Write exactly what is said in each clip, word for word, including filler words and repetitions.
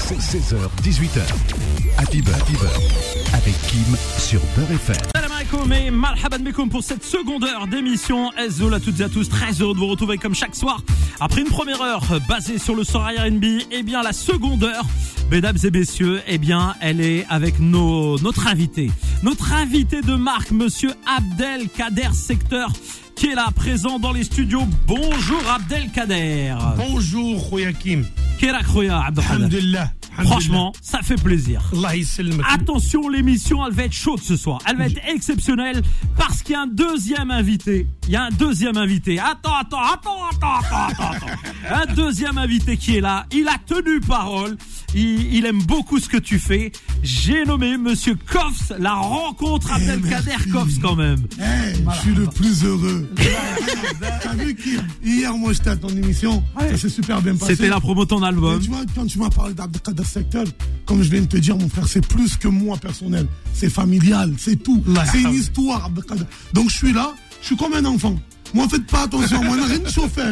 seize heures dix-huit heures. Happy Beurre, Happy Beurre avec Kim sur Beurre F M. Salam alaikum et marhaban bikoum pour cette seconde heure d'émission. Ezzoul à toutes et à tous, très heureux de vous retrouver comme chaque soir. Après une première heure basée sur le soir R and B, eh bien la seconde heure, mesdames et messieurs, eh bien elle est avec nos, notre invité. Notre invité de marque, monsieur Abdelkader Secteur, qui est là, présent dans les studios. Bonjour Abdelkader. Bonjour Khoya Kim. Kérak Khoya Abdelkader. Alhamdulillah. Franchement, ça fait plaisir. Allah yisselmek. Attention, l'émission, elle va être chaude ce soir. Elle va être exceptionnelle parce qu'il y a un deuxième invité. Il y a un deuxième invité. Attends, attends, attends, attends, attends, attends. Un deuxième invité qui est là. Il a tenu parole. Il, il aime beaucoup ce que tu fais. J'ai nommé Monsieur Koffs, la rencontre hey, Abdelkader Koffs quand même. Hey, voilà, je suis le plus heureux. T'as vu qu'hier, moi, j'étais à ton émission. Ouais. Ça s'est super bien passé. C'était la promo de ton album. Mais tu vois, quand tu m'as parlé d'Abdelkader Secteur, comme je viens de te dire, mon frère, c'est plus que moi personnel. C'est familial, c'est tout. Là, c'est une histoire, Abdelkader. Donc je suis là, je suis comme un enfant. Moi, faites pas attention, moi, rien de chauffeur.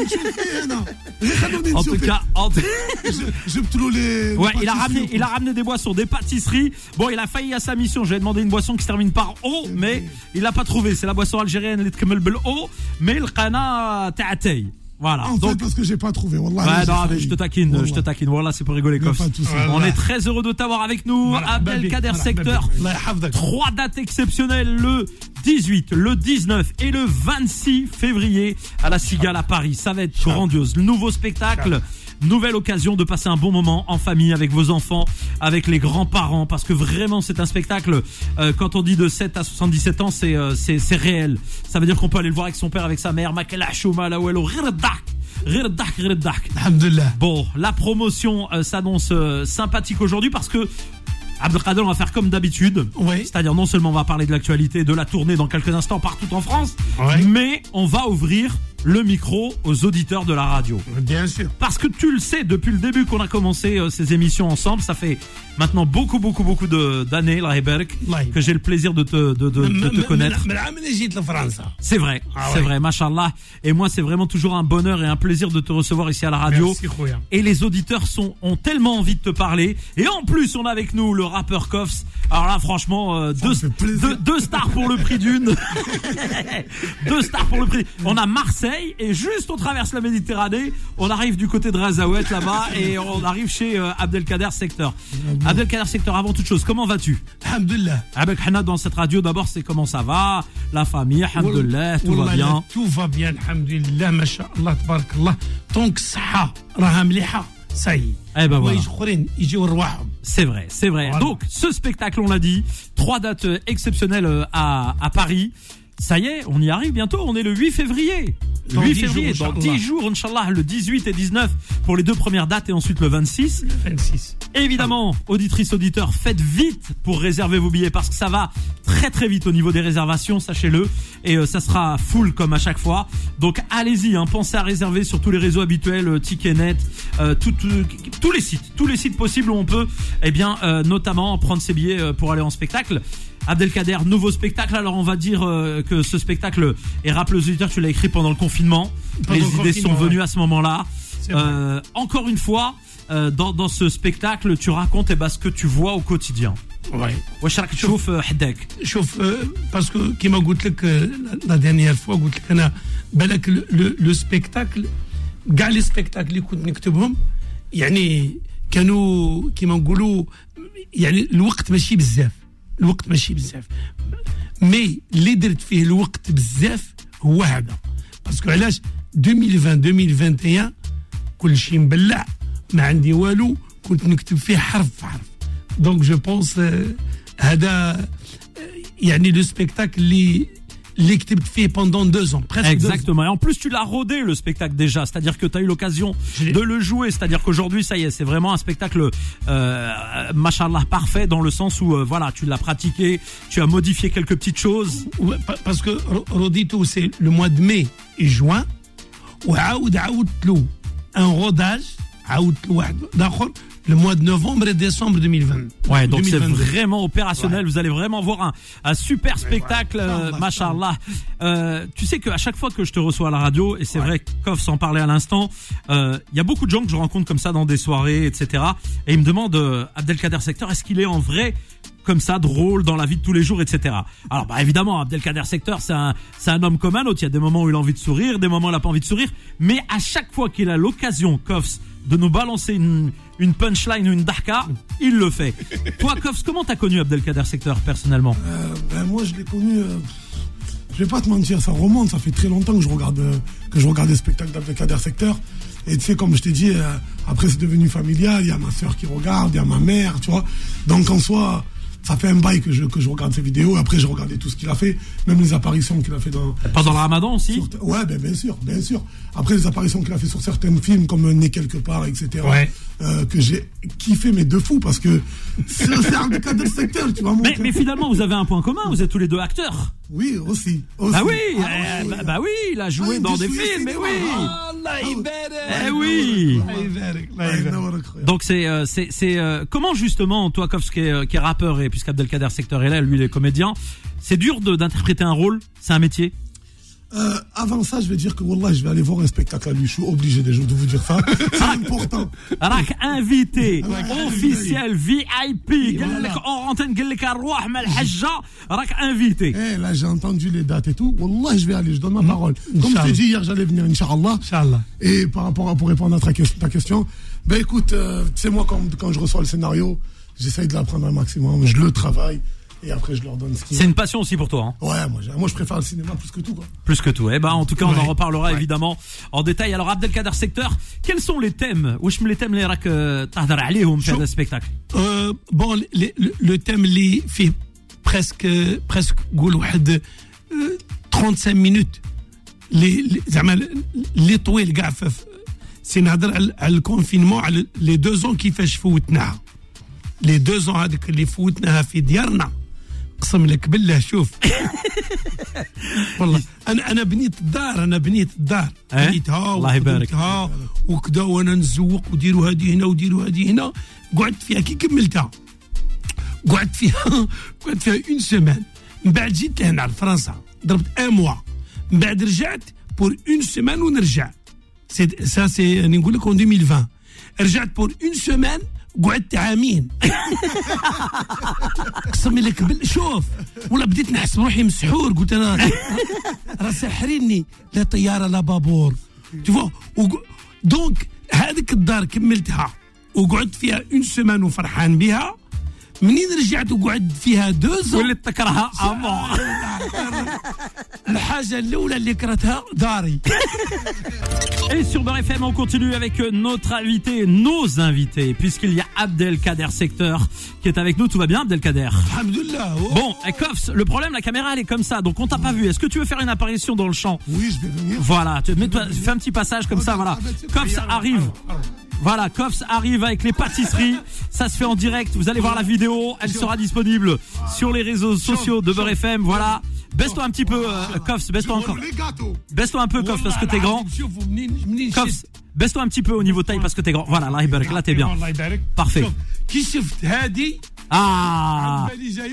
En tout cas, en tout... je, je les, ouais, il a ramené, il a ramené des boissons, des pâtisseries. Bon, il a failli à sa mission. Je lui ai demandé une boisson qui se termine par O, mais il l'a pas trouvé. C'est la boisson algérienne, les tkemel bel O, mais le qana ta'atay. Voilà. En donc, fait, parce que j'ai pas trouvé. Wallah, ouais, non, mais je te taquine, Wallah. je te taquine. Voilà, c'est pour rigoler, Koffs. On est très heureux de t'avoir avec nous, voilà, Abdelkader Secteur. Trois dates exceptionnelles, le dix-huit, le dix-neuf et le vingt-six février à la Cigale à Paris. Ça va être grandiose. Le nouveau spectacle. Nouvelle occasion de passer un bon moment en famille avec vos enfants, avec les grands-parents, parce que vraiment c'est un spectacle, euh, quand on dit de sept à soixante-dix-sept ans, c'est, euh, c'est, c'est réel. Ça veut dire qu'on peut aller le voir avec son père, avec sa mère. Bon, la promotion euh, s'annonce euh, sympathique aujourd'hui parce que Abdelkader, on va faire comme d'habitude. Oui. C'est-à-dire, non seulement on va parler de l'actualité, de la tournée dans quelques instants partout en France, oui. mais on va ouvrir le micro aux auditeurs de la radio. Bien sûr. Parce que tu le sais, depuis le début qu'on a commencé euh, ces émissions ensemble, ça fait maintenant beaucoup, beaucoup, beaucoup de, d'années, la Heberk, que j'ai le plaisir de te, de, de, de te connaître. C'est vrai, ah c'est ouais. vrai, machallah. Et moi, c'est vraiment toujours un bonheur et un plaisir de te recevoir ici à la radio. Merci, Khoya. Et les auditeurs sont, ont tellement envie de te parler. Et en plus, on a avec nous le rappeur Koffs. Alors là, franchement, euh, deux, deux, deux stars pour le prix d'une. Deux stars pour le prix. On a Marseille. Et juste on traverse la Méditerranée, on arrive du côté de Razaouet là-bas et on arrive chez euh, Abdelkader Secteur. Abdelkader Secteur, avant toute chose, comment vas-tu? Alhamdulillah. Avec Hana dans cette radio, d'abord c'est comment ça va, la famille, alhamdulillah, tout va bien. Tout va bien, alhamdulillah, masha'Allah, tabarakallah. Tant que ça, raha mliha, ça y est. Eh ben voilà. C'est vrai, c'est vrai. Voilà. Donc ce spectacle, on l'a dit, trois dates exceptionnelles à, à Paris. Ça y est, on y arrive bientôt, on est le huit février. Dans huit février, jours, dans dix jours, Inch'Allah, le dix-huit et dix-neuf pour les deux premières dates et ensuite le vingt-six. Le vingt-six. Évidemment, ah. auditrices, auditeurs, faites vite pour réserver vos billets parce que ça va très très vite au niveau des réservations, sachez-le. Et euh, ça sera full comme à chaque fois. Donc allez-y, hein, pensez à réserver sur tous les réseaux habituels, euh, Ticketnet, euh, tout, tout, tous les sites, tous les sites possibles où on peut, eh bien, euh, notamment prendre ses billets euh, pour aller en spectacle. Abdelkader, nouveau spectacle. Alors on va dire euh, que ce spectacle, et rappelle aux auditeurs, tu l'as écrit pendant le confinement. Pendant les idées sont venues ouais. à ce moment-là. Euh, encore une fois, euh, dans, dans ce spectacle, tu racontes eh ben, ce que tu vois au quotidien. Ouais. واش راك تشوف حداك؟ شوف باسكو كيما قلت لك لا ديرنيير فوا قلت لك انا بالك لو سبيكتاكل كاع لي سبيكتاكل اللي كنت نكتبهم يعني كانوا كيما نقولوا يعني الوقت ماشي بزاف. الوقت ماشي بزاف مي اللي درت فيه الوقت بزاف هو هذا باسكو علاش ألفين وعشرين ألفين وواحد وعشرين كل شيء مبلع ما عندي والو كنت نكتب فيه حرف في حرف دونك جو بونس هذا يعني لو سبيكتاكل اللي اللي كتبت فيه pendant deux ans presque. Exactement. Et en plus tu l'as rodé le spectacle déjà, c'est-à-dire que tu as eu l'occasion de le jouer, c'est-à-dire qu'aujourd'hui ça y est, c'est vraiment un spectacle euh, machallah parfait dans le sens où euh, voilà, tu l'as pratiqué, tu as modifié quelques petites choses. Ouais, parce que Rodito c'est le mois de mai et juin وعاود عاودت له un rodage عاودت لواحد اخر le mois de novembre et décembre deux mille vingt. Ouais, donc c'est vraiment opérationnel. Ouais. Vous allez vraiment voir un, un super spectacle, euh, machallah. Euh, tu sais qu'à chaque fois que je te reçois à la radio, et c'est ouais. vrai que Kof s'en parlait à l'instant, il euh, y a beaucoup de gens que je rencontre comme ça dans des soirées, et cetera. Et ils me demandent, euh, Abdelkader Secteur, est-ce qu'il est en vrai comme ça, drôle dans la vie de tous les jours, et cetera. Alors, bah, évidemment, Abdelkader Secteur, c'est un, c'est un homme comme un autre. Il y a des moments où il a envie de sourire, des moments où il n'a pas envie de sourire. Mais à chaque fois qu'il a l'occasion, Kofs, de nous balancer une, une punchline ou une dahka, il le fait. Toi, Kofs, comment t'as connu Abdelkader Secteur, personnellement? euh, ben, Moi, je l'ai connu... Euh, je vais pas te mentir, ça remonte. Ça fait très longtemps que je regarde, euh, que je regarde des spectacles d'Abdelkader Secteur. Et tu sais, comme je t'ai dit, euh, après, c'est devenu familial. Il y a ma soeur qui regarde, il y a ma mère, tu vois. Donc, en soi... Ça fait un bail que je, que je regarde ses vidéos. Après, j'ai regardé tout ce qu'il a fait, même les apparitions qu'il a fait dans... Pendant le Ramadan aussi sur, Ouais, ben, bien sûr, bien sûr. Après, les apparitions qu'il a fait sur certains films, comme Né quelque part, et cetera. Ouais. Euh, que j'ai kiffé, mais de fou, parce que c'est un des cadres secteur, tu vois. Mais, mais finalement, vous avez un point commun, vous êtes tous les deux acteurs. Oui, aussi. aussi. Bah oui, ah, euh, oui, bah, bah oui, il a joué ah, dans des films, mais oui. Allah eh oui. Allah Donc c'est euh, c'est c'est euh, comment justement toi Kofs qui est qui est rappeur et puisqu'Abdelkader Secteur est là, lui il est comédien, c'est dur de d'interpréter un rôle, c'est un métier. Euh, avant ça, je vais dire que Wallah, je vais aller voir un spectacle à lui. Je suis obligé déjà de vous dire ça. C'est important. راك invité officiel V I P. قال لك en antenne قال لك نروح مع الحجة راك invité. Eh là, j'ai entendu les dates et tout. Wallah, je vais aller, je donne ma parole. Comme je t'ai dit hier, j'allais venir, Inch'Allah. Inch'Allah. Et par rapport à, pour répondre à ta question, ben écoute, euh, tu sais, moi, quand, quand je reçois le scénario, j'essaye de l'apprendre un maximum, je le travaille. Et après, je leur donne ce qu'il y a. C'est une passion aussi pour toi. Hein. Ouais, moi, moi, je préfère le cinéma plus que tout. Quoi. Plus que tout. Eh ben, en tout cas, on ouais. en reparlera ouais. évidemment en détail. Alors, Abdelkader Secteur, quels sont les thèmes? Wesh les thèmes les rak tahdar عليهم في هذا الspectacle? Euh, bon, le, le, le thème اللي fait presque presque قول واحد trente-cinq minutes. Les زعما اللي طويل كاع سي نهضر على الكونفينمون على لي deux ans كيفاش فوتناها. لي deux ans هذيك اللي فوتناها في ديارنا. قسم لك بالله شوف والله انا انا بنيت الدار انا بنيت الدار بنيتها الله يبارك وكذا وانا نزوق وديروا هذه هنا وديروا هذه هنا قعدت فيها كي كملتها قعدت فيها قعدت فيها اون سيمان من بعد جيت لهنا لفرنسا ضربت ان موا من بعد رجعت بور اون سيمان ونرجع سي سا سي راني نقول لك en deux mille vingt رجعت بور اون سيمان قعدت عامين قسم لك بال شوف ولا بديت نحس بروحي مسحور قلت انا راه ساحريني لا طياره لا بابور تشوف دونك هذيك الدار كملتها وقعدت فيها اون سيمان وفرحان بها منين رجعت وقعدت فيها دوز وليت تكرهها امور الحاجه الاولى اللي كرهتها داري. Et sur Beurre F M, on continue avec notre invité, nos invités, puisqu'il y a Abdelkader Secteur qui est avec nous. Tout va bien, Abdelkader? Alhamdoulilah. Oh. Bon, Kofs, le problème, la caméra, elle est comme ça, donc on t'a pas vu. Est-ce que tu veux faire une apparition dans le champ? Oui, je vais venir. Voilà, tu, mets-toi, fais un petit passage comme ça, voilà. Kofs arrive. Voilà, Kofs arrive avec les pâtisseries. Ça se fait en direct. Vous allez voir la vidéo. Elle sera disponible sur les réseaux sociaux de Beurre F M. Voilà. Baisse-toi un petit peu, euh, Kofs. Baisse-toi encore. Baisse-toi un peu, Kofs, parce que t'es grand. Kofs, baisse-toi un petit peu au niveau taille parce que t'es grand. Voilà, là t'es bien. Parfait. Ah.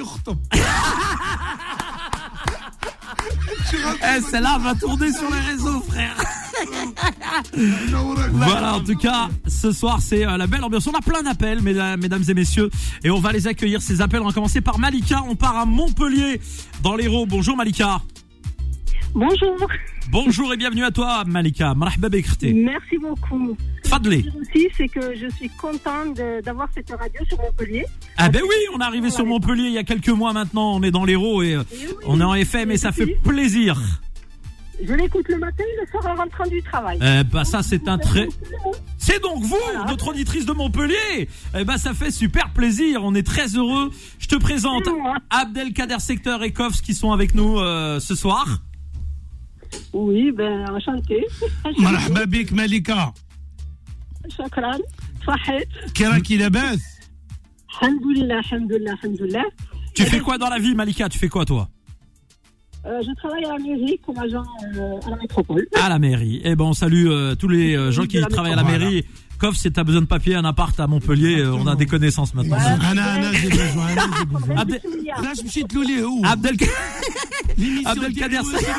Eh, celle-là va tourner sur les réseaux, frère. Voilà, en tout cas, ce soir, c'est euh, la belle ambiance. On a plein d'appels, mesdames, mesdames et messieurs, et on va les accueillir, ces appels. On va commencer par Malika. On part à Montpellier, dans l'Hérault. Bonjour, Malika. Bonjour. Bonjour et bienvenue à toi, Malika. Marhaba bek khti. Merci beaucoup. Fadli. Aussi, c'est que je suis contente de, d'avoir cette radio sur Montpellier. Ah ben oui, on est arrivé sur Montpellier il y a quelques mois maintenant. On est dans l'Hérault et, et oui, on est en F M et ça fait plaisir. Je l'écoute le matin et le soir en rentrant du travail. Eh ben ça c'est un très... C'est donc vous, voilà. Notre auditrice de Montpellier. Eh ben ça fait super plaisir, on est très heureux. Je te présente Abdelkader Secteur et Kofs qui sont avec nous euh, ce soir. Oui, ben enchanté. مرحبا بك ملكة. شكرا. صحيت. كي راكي لاباس؟ الحمد لله الحمد لله الحمد لله. Tu fais quoi dans la vie, Malika? Tu fais quoi toi? Euh, je travaille à la mairie comme agent euh, à la métropole. À la mairie. Eh ben, on salue euh, tous les euh, gens qui la travaillent à la mairie. Kof, si t'as besoin de papier, un appart à Montpellier, euh, on a des connaissances maintenant. انا انا j'ai besoin انا j'ai besoin Abdel, علاش مشيت له ليه هو Abdel, L'émission Abdelkader,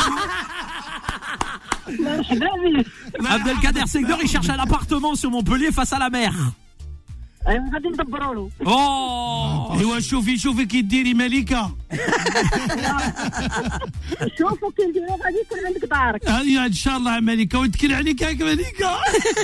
مرحبا بك. Abdelkader Segdor, il cherche un appartement sur Montpellier face à la mer. أيوة غادي ندبروا له. Oh! ايوا شوفي شوفي كي ديري ملكه شوفوا كي نديروا غادي يكون عندك دارك. هيا ان شاء الله ملكه ونتكل عليك هاك ملكه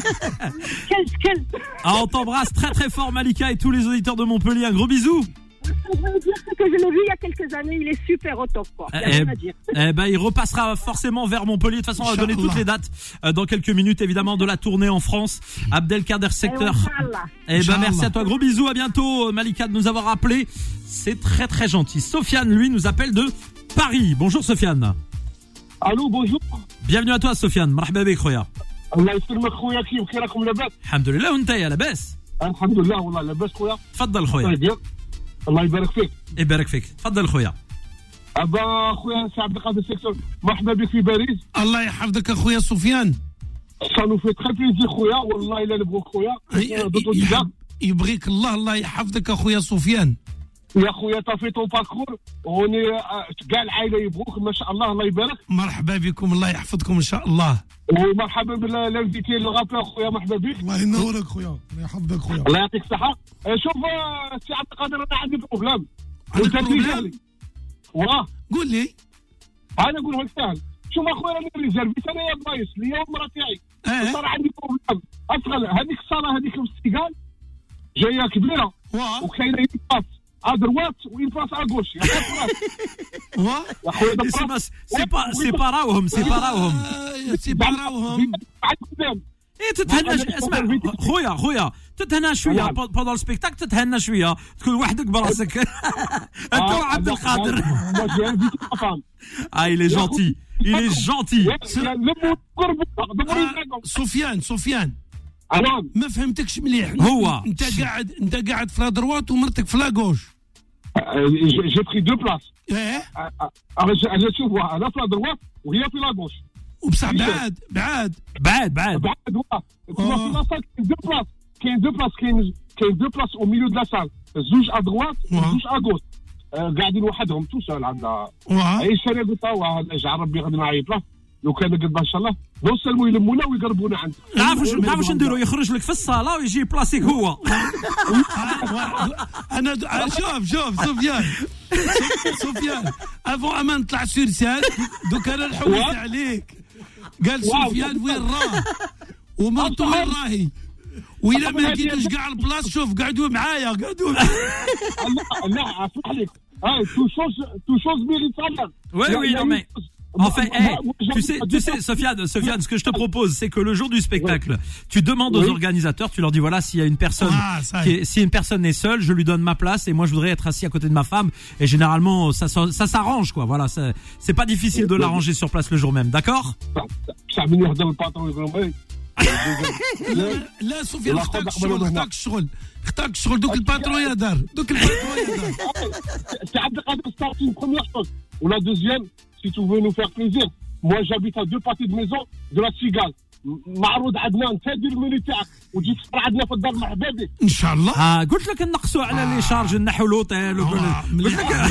كلت كلت. Ah, on t'embrasse très très fort, Malika, et tous les auditeurs de Montpellier. Un gros bisou. Ce que je veux dire, c'est que je l'ai vu il y a quelques années, il est super au top, quoi. Il y a Eh, rien à dire. eh ben, il repassera forcément vers Montpellier. De toute façon, on va donner toutes les dates euh, dans quelques minutes, évidemment, de la tournée en France. Abdelkader Secteur. Inch'Allah. Eh ben, Inch'Allah. merci à toi. Gros bisous. À bientôt, Malika, de nous avoir appelé. C'est très très gentil. Sofiane, lui, nous appelle de Paris. Bonjour, Sofiane. الو بونجور Bienvenue à toi, Sofiane. مرحبا بك خويا. الله يسلمك خويا كيف كي راكم لاباس الحمد لله وانت يا لاباس. الحمد لله والله لاباس خويا تفضل خويا. طيب الله يبارك فيك يبارك فيك. تفضل خويا. ابا خويا سي عبد القادر سيكتور مرحبا بك في باريس الله يحفظك اخويا سفيان ça nous fait très plaisir خويا والله الا نبغوك خويا دوتو ديجا يحب- يبغيك الله الله يحفظك اخويا سفيان يا خويا طافي طون باركور وني كاع العائله يبغوك ما شاء الله الله يبارك مرحبا بكم الله يحفظكم ان شاء الله ومرحبا بالانفيتي لو رابور خويا مرحبا بك الله ينورك خويا الله يحفظك خويا الله يعطيك الصحه شوف آه، سي عبد القادر انا عندي بروبليم عندك وانت بروبليم؟ تيجي واه قول لي انا نقول لك سهل شوف اخويا انا ريزيرفيت انا يا بايس ليا والمراه تاعي اه صار عندي بروبليم اصغر هذيك الصاله هذيك السيجال جايه كبيره واه وكاينه اون باس ا دروات وين باس ا غوش يا واه اخويا C'est pas, c'est pas, c'est pas راوهم, c'est pas راوهم. آه، سي باراوهم ايه تتهنى ش- اسمع خويا خويا تتهنى شويه نعم. بودون السبيكتاك تتهنى شويه تكون وحدك براسك انت وعبد القادر. moi j'ai invité ma femme Ah, il est gentil, il est gentil. لموا قربوا دبروا يزعقوا سفيان سفيان نعم ما فهمتكش مليح هو. انت قاعد انت قاعد في لا دروات ومرتك في لا غوش جي بري دو بلاس ايه انا شوف انا في لا دروات وهي في لا غوش وبصح بعاد بعاد بعد بعد بعد واه تما في لا سال كاين دو بلاس كاين دو بلاس كاين كاين دو بلاس او ميليو دو لا سال زوج ا دروات وزوج ا غوش قاعدين وحدهم تو سول عندها واه اي شيء قلت له اجعل ربي غادي نعيط له لو كان قد ان شاء الله نوصلوا يلمونا ويقربونا عندك تعرف واش تعرف واش نديرو يخرج لك في الصاله ويجي بلاصيك هو. انا د- آه، شوف شوف سفيان سفيان افون اما نطلع سور سان دوك انا نحوس عليك قال سفيان وين راه ومرته وين راهي وإلا ما لقيتوش كاع البلاص شوف قعدوا معايا قعدوا معايا لا لا اسمح لك هاي تو شوز تو شوز ميريت سالير Oui, oui, non, mais enfin, hey, tu sais, tu sais, Sofiane, Sofiane, ce que je te propose, c'est que le jour du spectacle, tu demandes aux Oui. organisateurs, tu leur dis voilà, s'il y a une personne, Ah, ça y qui est. est- si une personne est seule, je lui donne ma place et moi je voudrais être assis à côté de ma femme. Et généralement, ça, ça, ça s'arrange, quoi. Voilà, ça- c'est pas difficile de l'arranger sur place le jour même, d'accord? بصح من يهضر الباطرون يقول لهم لا, لا سفيان لا، اختارك خذ الشغل أقبل اختارك الشغل اختارك الشغل دوك الباترون يا دار دوك الباترون يا دار سي عبد القادر ستارت une première chose ou la deuxième si tu veux nous faire plaisir moi j'habite à deux pâtés de maison de la Cigale معروض عندنا انت دير الميني تاعك وتجي تفطر عندنا في الدار مرحبا بك ان شاء الله Ah, قلت لك نقصوا على لي شارج نحو لوطيل آه، مليحة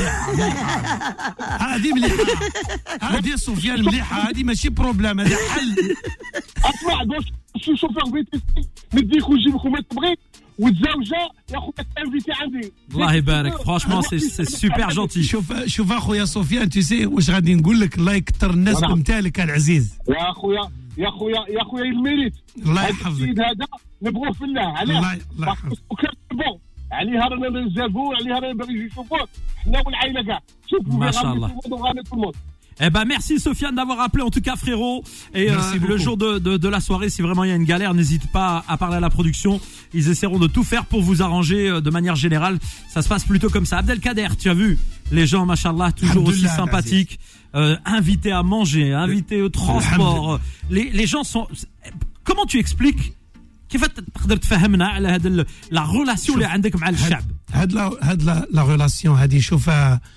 هذه مليحة هذه سفيان مليحة هذه ماشي بروبليم هذا حل اسمع دوك شي شوفير فيتيسي نديك ونجيبك وما تبغي وتزوجه يا خويا تانفيتي عندي الله يبارك. Franchement, c'est c'est super gentil. شوف شوف اخويا سفيان تسي واش غادي نقول لك الله يكثر الناس نعم. بمثالك العزيز يا خويا يا خويا يا خويا الميريت الله هذا يحفظك السيد هذا نبغوه في الله علاه الله الله يحفظك وكان بون عليها رانا نريزيرفو عليها رانا باغي يجي يشوفوه حنا والعائله كاع شوفوا ما شاء الله. tout le monde. Eh ben merci Sofiane d'avoir appelé en tout cas frérot et euh, Merci beaucoup. le jour de, de, de la soirée si vraiment il y a une galère n'hésite pas à parler à la production, ils essaieront de tout faire pour vous arranger euh, de manière générale, ça se passe plutôt comme ça. Abdelkader, tu as vu les gens machallah toujours aussi Alhamdulillah, sympathiques, euh, invités à manger, invités au transport, les, les gens sont comment tu expliques كيف تقدر تفهمنا على هذا la relation اللي عندك مع الشعب؟ هاد لا هاد لا لا ريلاسيون هادي شوفها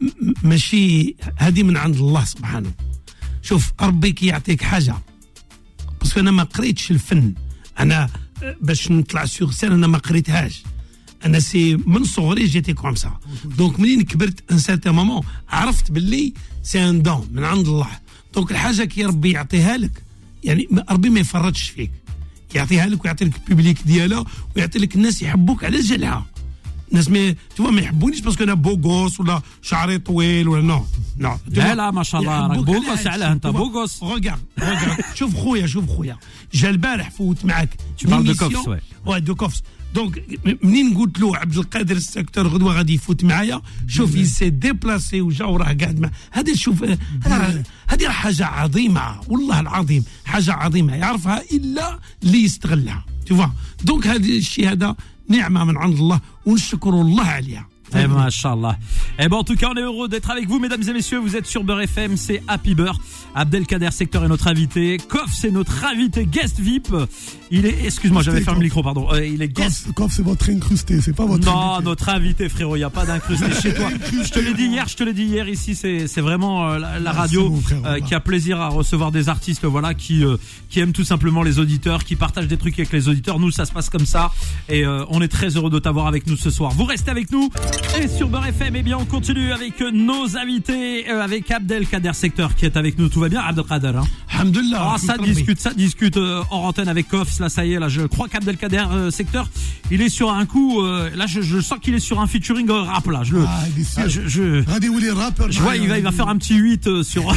ماشي هذه من عند الله سبحانه. شوف ربي كي يعطيك حاجه باسكو انا ما قريتش الفن، انا باش نطلع سيغ سين انا ما قريتهاش، انا سي من صغري جيتي كوم سا. دونك منين كبرت ان سيرتان مومون عرفت باللي سي ان دون من عند الله. دونك الحاجه كي ربي يعطيها لك يعني ربي ما يفرطش فيك، يعطيها لك ويعطي لك البوبليك ديالها ويعطي لك الناس يحبوك على جالها. الناس ما توا ما يحبونيش باسكو انا بوغوس ولا شعري طويل ولا نو نو. لا لا ما شاء الله راك بوغوس علاه انت بوغوس. روغارد روغارد شوف خويا شوف خويا جا البارح فوت معاك Tu parles de Kofs, ouais. Ouais, de Kofs. دونك منين قلت له عبد القادر السكتور غدوه غادي يفوت معايا، شوف يسي ديبلاسي وجا وراه قاعد مع هذا. شوف هذه حاجه عظيمه والله العظيم، حاجه عظيمه يعرفها الا اللي يستغلها. تشوف دونك هذا الشيء هذا نعمه من عند الله ونشكر الله عليها. Eh ben, Inch'Allah. Eh ben, en tout cas, on est heureux d'être avec vous, mesdames et messieurs. Vous êtes sur Beurre F M, c'est Happy Beurre. Abdelkader Secteur est notre invité. Kof, c'est notre invité guest V I P. Il est, excuse-moi, j'avais fermé le micro, pardon. Euh, il est guest. Kof, c'est votre incrusté, c'est pas votre Non, invité. notre invité, frérot. Il n'y a pas d'incrusté chez toi. Je te l'ai dit hier, je te l'ai dit hier. Ici, c'est, c'est vraiment euh, la, la radio bon, frère, euh, qui a plaisir à recevoir des artistes, voilà, qui, euh, qui aiment tout simplement les auditeurs, qui partagent des trucs avec les auditeurs. Nous, ça se passe comme ça. Et euh, on est très heureux de t'avoir avec nous ce soir. Vous restez avec nous. Et sur Beurre F M, eh bien, on continue avec nos invités, euh, avec Abdelkader Secteur qui est avec nous. Tout va bien, Abdelkader, hein? Alhamdulillah. Ah, ça discute, ça discute euh, hors antenne avec Kofs. Là, ça y est, là, je crois qu'Abdelkader euh, Secteur, il est sur un coup. Euh, là, je, je sens qu'il est sur un featuring euh, rap. Là, je le. Ah, il est sûr. Ah, je, je, Regardez où les rappeurs. je vois, il va, il va faire un petit huit euh, sur.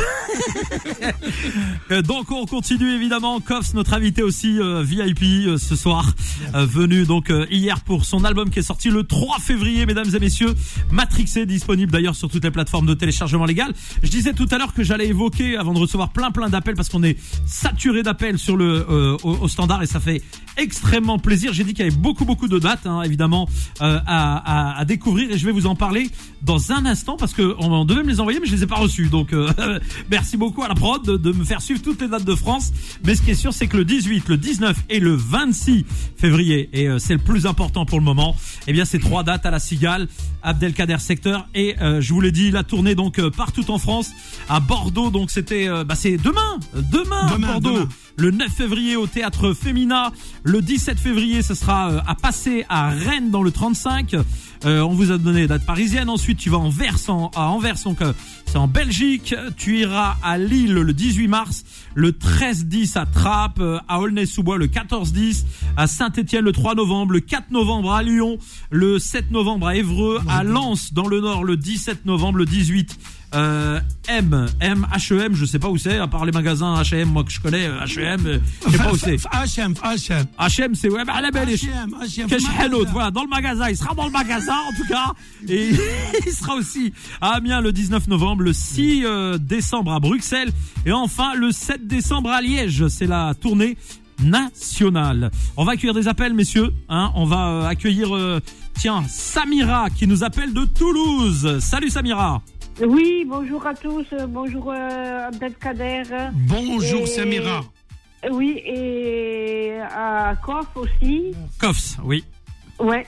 Euh, donc, on continue évidemment. Kofs, notre invité aussi euh, V I P euh, ce soir, euh, venu donc euh, hier pour son album qui est sorti le trois février, mesdames et messieurs. Matrixé, disponible d'ailleurs sur toutes les plateformes de téléchargement légal. Je disais tout à l'heure que j'allais évoquer, avant de recevoir plein plein d'appels, parce qu'on est saturé d'appels sur le euh, au, au standard et ça fait extrêmement plaisir. J'ai dit qu'il y avait beaucoup beaucoup de dates, hein, évidemment, euh, à, à, à découvrir et je vais vous en parler dans un instant parce que on devait me les envoyer mais je les ai pas reçus. Donc euh, merci beaucoup à la prod de, de me faire suivre toutes les dates de France. Mais ce qui est sûr, c'est que le dix-huit, le dix-neuf et le vingt-six février, et euh, c'est le plus important pour le moment, eh bien ces trois dates à la Cigale, Abdelkader Secteur et euh, je vous l'ai dit, la tournée donc euh, partout en France, à Bordeaux. Donc c'était, euh, bah c'est demain, demain, Demain, à Bordeaux. demain. Le neuf février au Théâtre Femina. Le dix-sept février, ce sera euh, à Passé à Rennes dans le trente-cinq. Euh, on vous a donné les dates parisiennes. Ensuite, tu vas en Anvers, en, à Anvers, donc euh, c'est en Belgique. Tu iras à Lille le dix-huit mars, le treize dix à Trappes, euh, à Aulnay-sous-Bois le quatorze dix, à Saint-Étienne le trois novembre, le quatre novembre à Lyon, le sept novembre à Évreux, à Lens dans le Nord le dix-sept novembre, le dix-huit. Euh, M, M, H E M, je sais pas où c'est, à part les magasins H et M, moi que je connais, H et M, je sais pas où c'est. H et M, H et M. H et M, c'est ouais, bah, à la belle. H et M, H et M. Cache Hanout, voilà, dans le magasin. Il sera dans le magasin, en tout cas. Et il sera aussi à Amiens le dix-neuf novembre, le six décembre à Bruxelles. Et enfin, le sept décembre à Liège. C'est la tournée nationale. On va accueillir des appels, messieurs. Hein, on va euh, accueillir, euh, tiens, Samira qui nous appelle de Toulouse. Salut Samira. Oui, bonjour à tous. Bonjour euh, Abdelkader. Bonjour Et- Samira. Oui, et à Kof aussi. Kofs, oui. Ouais.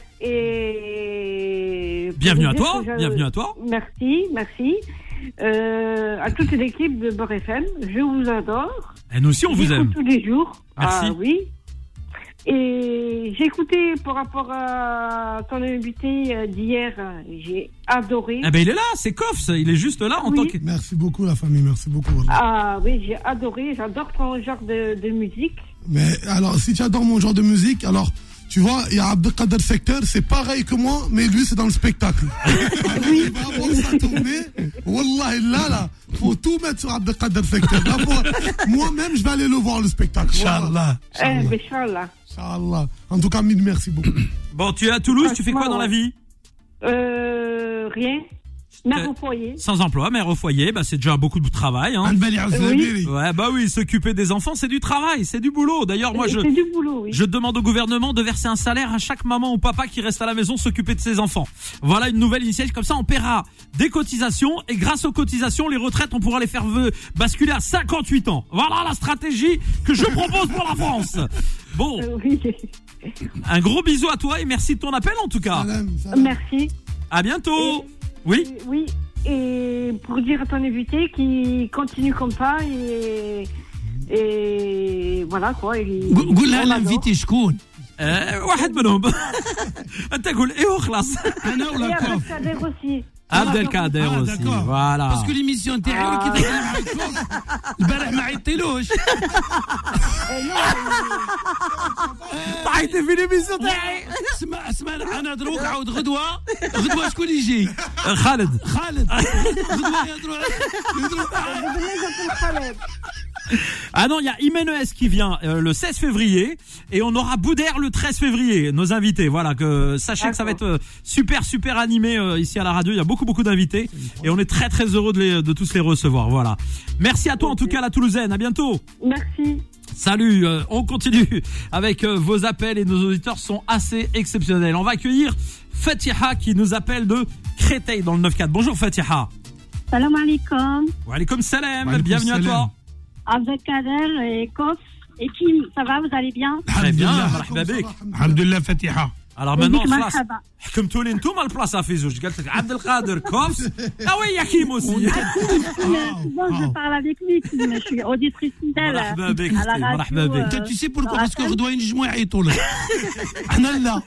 Et Bienvenue à pour toi, dire que je- bienvenue à toi. Merci, merci. Euh, à toute l'équipe de Beurre F M, je vous adore. Et nous aussi, on vous J'écoute aime. tous les jours. Merci. Ah oui. Et j'ai écouté par rapport à ton invité euh, d'hier, j'ai adoré. Eh ben, il est là, c'est Kofs. Il est juste là en Oui. tant que. Merci beaucoup la famille, merci beaucoup. Wallah. Ah oui, j'ai adoré. J'adore ton genre de, de musique. Mais alors, si tu adores mon genre de musique, alors, tu vois, il y a Abdelkader Secteur, c'est pareil que moi, mais lui, c'est dans le spectacle. Oui. Il va avoir sa tournée. Wallah, là, là, faut tout mettre sur Abdelkader Secteur. Là, pour- moi-même, je vais aller le voir, le spectacle. Inch'Allah. Eh, ben, Inch'Allah. Inch'Allah. En tout cas, mille merci beaucoup. Bon, tu es à Toulouse, tu fais quoi Franchement, dans la vie? Euh, rien. Mère Euh, au foyer. Sans emploi, mère au foyer, bah c'est déjà beaucoup de travail. Hein. Anbali Azlamiri. Ouais, bah oui, s'occuper des enfants, c'est du travail, c'est du boulot. D'ailleurs, moi, je, C'est du boulot, oui. je demande au gouvernement de verser un salaire à chaque maman ou papa qui reste à la maison s'occuper de ses enfants. Voilà une nouvelle initiative, comme ça on paiera des cotisations et grâce aux cotisations, les retraites, on pourra les faire ve- basculer à cinquante-huit ans. Voilà la stratégie que je propose pour la France. Bon, Euh, oui. un gros bisou à toi et merci de ton appel en tout cas. Salam, salam. Merci. À bientôt. Oui. Euh, Oui. Et pour dire à ton invité qu'il continue comme ça et, et voilà quoi. Et, قول لها l'invité شكون؟ آه، واحد منهم. انت قول ايه وخلاص. انا et ولا كوف؟ Abdelkader aussi. Abdelkader Ah, aussi. d'accord. Voilà. Parce que l'émission تاعي اللي كيدخل مع الكوف البارح ما عيطتلوش. طايت في ليميسيون تاعي. اسمع اسمع انا دروك عاود غدوه غدوه شكون يجي؟ خالد. خالد. غدوه يهضروا يهضروا Ah non, il y a Imenes qui vient euh, le seize février et on aura Boudère le treize février, nos invités. Voilà, que sachez que ça va être euh, super super animé euh, ici à la radio. Il y a beaucoup beaucoup d'invités et on est très très heureux de, les, de tous les recevoir. Voilà. Merci à toi en tout cas la Toulousaine. À bientôt. Merci. Salut, euh, on continue avec euh, vos appels et nos auditeurs sont assez exceptionnels. On va accueillir Fatiha qui nous appelle de Créteil dans le neuf quatre. Bonjour Fatiha. Salam alaikum. Wa alaikum salam, Wa alaikum bienvenue salam. à toi. Abdelkader et Kof et Kim, ça va, vous allez bien? Très bien, Alhamdulillah. marhaba bik. Alhamdulillah Fatiha. Alors maintenant, Bik خلاص marhaba. حكمتوا لي انتم البلاصه في زوج قالت لك عبد القادر كوفس اه وي يا كيم aussi. Souvent je parle avec lui, Kim, je suis auditrice fidèle مرحبا بك à la radio. مرحبا بك. euh, Tu sais pourquoi? dans la Parce que salle. غدوه ينجموا يعيطوا لك. احنا لا.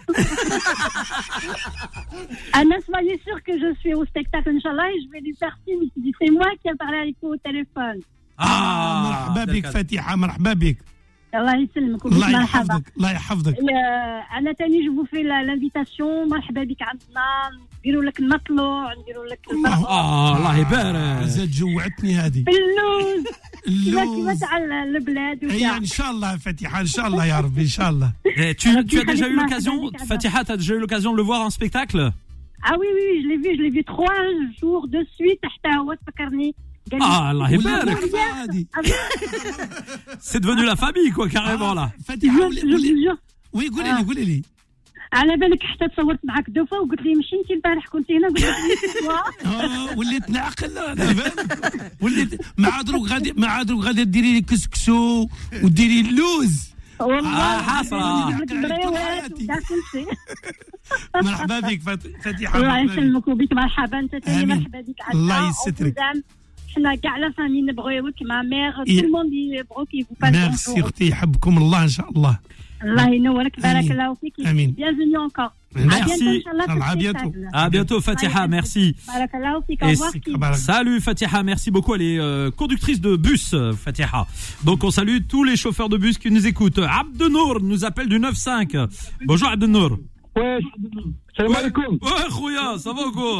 Anna, soyez sûr que je suis au spectacle, Inch'Allah, et je vais lui faire signe. Il dit, c'est moi qui ai parlé avec vous au téléphone. اه مرحبا بك فاتحه مرحبا بك. Allah يسلمك وبك الله مرحبا. يحفظك الله يحفظك. Euh, أنا تاني je vous fais la- l'invitation. مرحبا بك عندنا. نديروا لك المطلوع، نديروا لك الله اه الله يبارك. زاد جوعتني هذه. اللوز. كيما كيما اللوز. تاع البلاد اي وكاع. ان شاء الله فاتحه ان شاء الله يا ربي ان شاء الله. Eh, tu, tu as déjà eu l'occasion, Fatiha, tu as déjà eu l'occasion de le voir en spectacle? Ah oui, oui, je l'ai vu, je l'ai vu trois jours de suite. حتى هو تفكرني. قال لي- Ah, Allah ولا يبارك. الكفاءة هذه. C'est devenu la famille, quoi, carrément, là. فاتحه Je- ولي je vous ولي- jure. وي قولي لي قولي لي. على بالك حتى تصورت معك دو فوا وقلت لي مشي انت البارح كنت هنا قلت لك آه، وليت نعقل انا فاهم. وليت مع دروك غادي مع دروك غادي ديري لي كسكسو وديري اللوز. والله آه، حسرة. لك بريوات وكاع كل شيء. مرحبا بك فات- فاتحه الله مرحبا بك. يسلمك وبك مرحبا انت ثاني آمين. مرحبا بك عندنا. الله يسترك. حنا كاع لا فامي نبغيوك مع ميغ إيه. تو الموند يبغوك يبغوا ميرسي اختي يحبكم الله ان شاء الله. الله ينورك بارك آمين. الله فيك. آمين. Bienvenue encore. Merci. À bientôt. À bientôt, Fatiha, merci. بارك الله فيك. Au Et revoir. c'est- Kim. Salut Fatiha, merci beaucoup. Elle est euh, conductrice de bus, euh, Fatiha. Donc on salue tous les chauffeurs de bus qui nous écoutent. Abdenour nous appelle du neuf cinq. Bonjour Abdenour. Ouais. Salam alaikum. Ouais, Khouya, ça va quoi?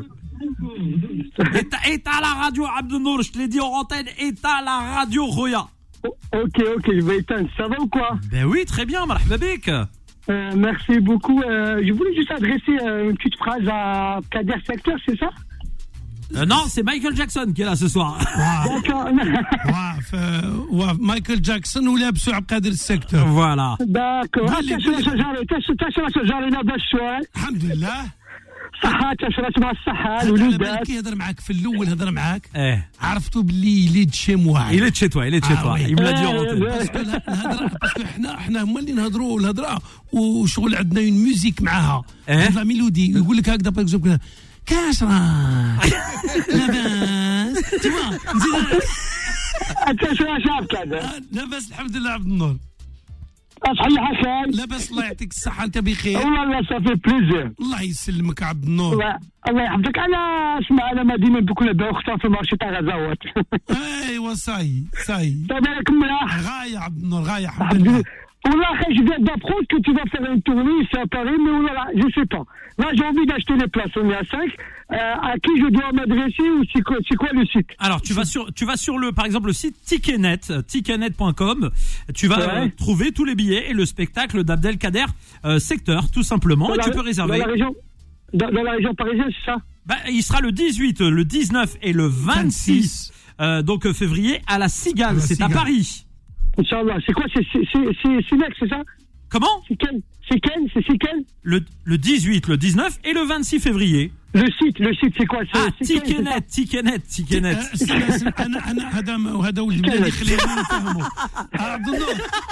Et t'as- et t'as la radio Abdenour, je te l'ai dit en antenne, et t'as la radio Khouya. Ok, ok, je vais éteindre. Ça va ou quoi? Ben oui, très bien, marhaba bik. Euh, Merci beaucoup. Euh, je voulais juste adresser euh, une petite phrase à Kader Secteur, c'est ça? Euh, non, c'est Michael Jackson qui est là ce soir. D'accord. واف واف مايكل جاكسون ولابسو عبد القادر السكتور. Voilà. D'accord. قول لي- تشرى قول لي. شجرة تشرى شجرة لاباس شوال. الحمد لله. صحة تشرى مع الصحة هذا على بالك الوليدات. يهضر معاك في الاول هضر معاك Eh, عرفتو باللي يليد شي مواعي. il est de chez toi, il est de chez Ah toi. oui. Il me l'a dit en Eh, antenne. ouais. باسكو الهضره باسكو حنا حنا هما اللي نهضروا الهضره وشغل عندنا اون ميوزيك معاها. إيه؟ لا ميلودي يقول لك هكذا باغ اكزومبل كاش راك لاباس تما نزيد تشرى شاب كذا. لاباس الحمد لله عبد النور. أصحي حسن. لاباس الله يعطيك الصحه انت بخير. والله صافي بليزير. الله يسلمك عبد النور. الله الله يحفظك. أنا اسمع أنا مدينة بكل بأختها في مارشي تاع غزاوات. ايوا صاي صاي تبارك ملاح. غايه عبد النور غايه الحمد لله. Oula, je viens d'apprendre que tu vas faire une tournée ici à Paris, mais oula, je sais pas. Là, j'ai envie d'acheter les places. On est à cinq. Euh, à qui je dois m'adresser ou c'est quoi, c'est quoi le site? Alors tu vas sur tu vas sur le par exemple le site Ticketnet, ticketnet point com. Tu vas Ouais. euh, trouver tous les billets et le spectacle d'Abdelkader euh, Secteur tout simplement et Dans tu la- peux réserver. Dans la région, dans, dans la région parisienne, c'est ça? Bah, il sera le dix-huit, le dix-neuf et le vingt-six euh, donc euh, février à la Cigale, À la c'est à Cigale. Paris. Inch'Allah. C'est quoi? C'est, c'est, c'est, c'est, c'est Nex, c'est ça? Comment? C'est quel? C'est quel? C'est, c'est quel? Le le dix-huit, le dix-neuf et le vingt-six février. Le site, le site, c'est quoi? C'est, Ah, c'est quel, c'est ça? Ticketnet, Ticketnet, Ticketnet. استنى استنى انا انا هذا هذا ولد بلادي خلينا نفهموا. عبد النور